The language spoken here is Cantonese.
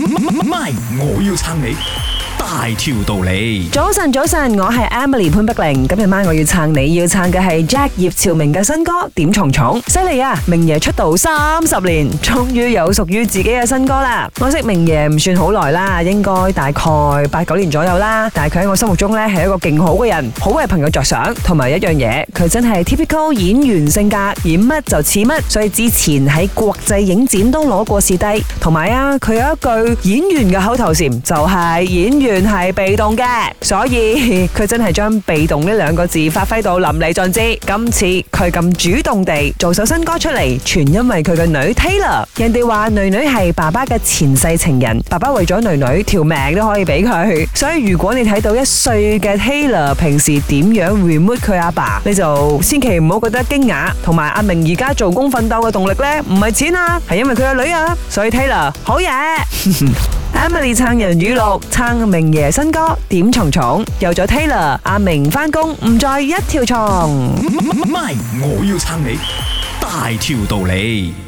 MY， 我要撐你大條道理。 早晨，我係 Emily 潘碧玲。今日晚我要撐你，要撐嘅係 Jack 葉朝明嘅新歌《點蟲蟲》，犀利啊！明爺出道30年，終於有屬於自己嘅新歌啦。我識明爺唔算好耐啦，應該大概8、9年左右啦。但係佢喺我心目中呢係一個勁好嘅人，好為朋友着想，同埋一樣嘢，佢真係 typical 演員性格，演乜就似乜。所以之前喺國際影展都攞過視帝，同埋啊，佢有一句演員嘅口頭禪，就係演員係被動嘅，所以佢真係將被動呢2個字發揮到淋漓盡致。今次佢咁主動地做首新歌出嚟，全因為佢嘅女 Taylor。人哋話女女係爸爸嘅前世情人，爸爸為咗女女條命都可以俾佢。所以如果你睇到1歲嘅 Taylor 平時點樣 remote 佢阿爸，你就千祈唔好覺得驚訝。同埋阿明而家做工奮鬥嘅動力呢，唔係錢啊，係因為佢個女啊。所以 Taylor 好嘢。Emily 撐人語錄，撐明爺新歌《點蟲蟲》，有咗 Taylor， 阿明返工唔再一條蟲。 MY， 我要撐你大條道理。